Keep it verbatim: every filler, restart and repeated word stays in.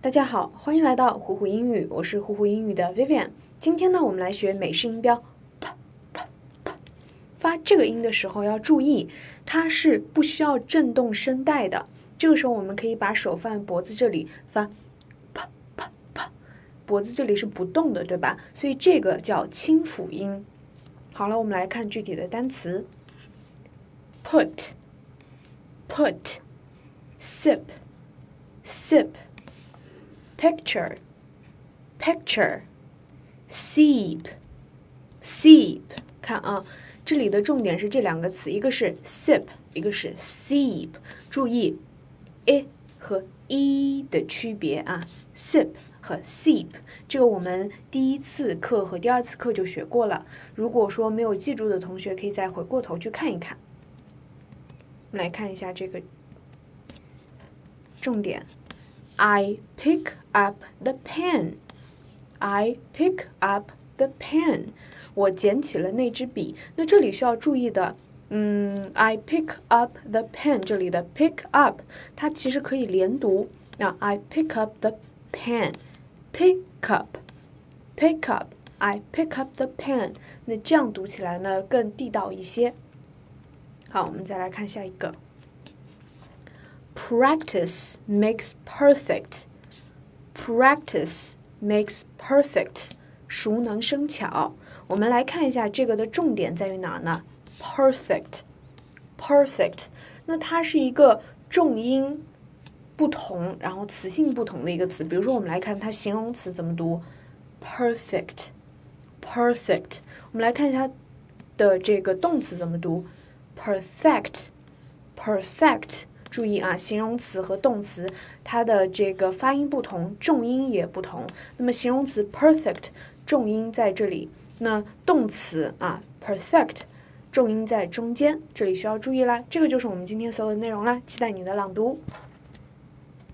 大家好，欢迎来到虎虎英语，我是虎虎英语的 Vivian。今天呢，我们来学美式音标 p p p。发这个音的时候要注意，它是不需要震动声带的。这个时候我们可以把手放在脖子这里发 p p p， 脖子这里是不动的，对吧？所以这个叫清辅音。好了，我们来看具体的单词 ：put put sip sip。Picture, picture, seep, seep。看啊，这里的重点是这两个词，一个是 sip， 一个是 seep。注意 i 和 e 的区别啊 ，sip 和 seep， 这个我们第一次课和第二次课就学过了。如果说没有记住的同学，可以再回过头去看一看。我们来看一下这个重点。I pick up the pen. I pick up the pen. 我捡起了那支笔。那这里需要注意的，嗯 ，I pick up the pen 这里的 pick up 它其实可以连读。那 I pick up the pen. Pick up, pick up. I pick up the pen. 那这样读起来呢更地道一些。好，我们再来看下一个。Practice makes perfect. Practice makes perfect. 熟能生巧。我们来看一下这个的重点在于哪呢 ？Perfect, perfect. 那它是一个重音不同，然后词性不同的一个词。比如说，我们来看它形容词怎么读 ，perfect, perfect. 我们来看一下它的这个动词怎么读 ，perfect, perfect。注意啊，形容词和动词它的这个发音不同，重音也不同。那么形容词 perfect 重音在这里，那动词啊 perfect 重音在中间，这里需要注意啦。这个就是我们今天所有的内容啦，期待你的朗读。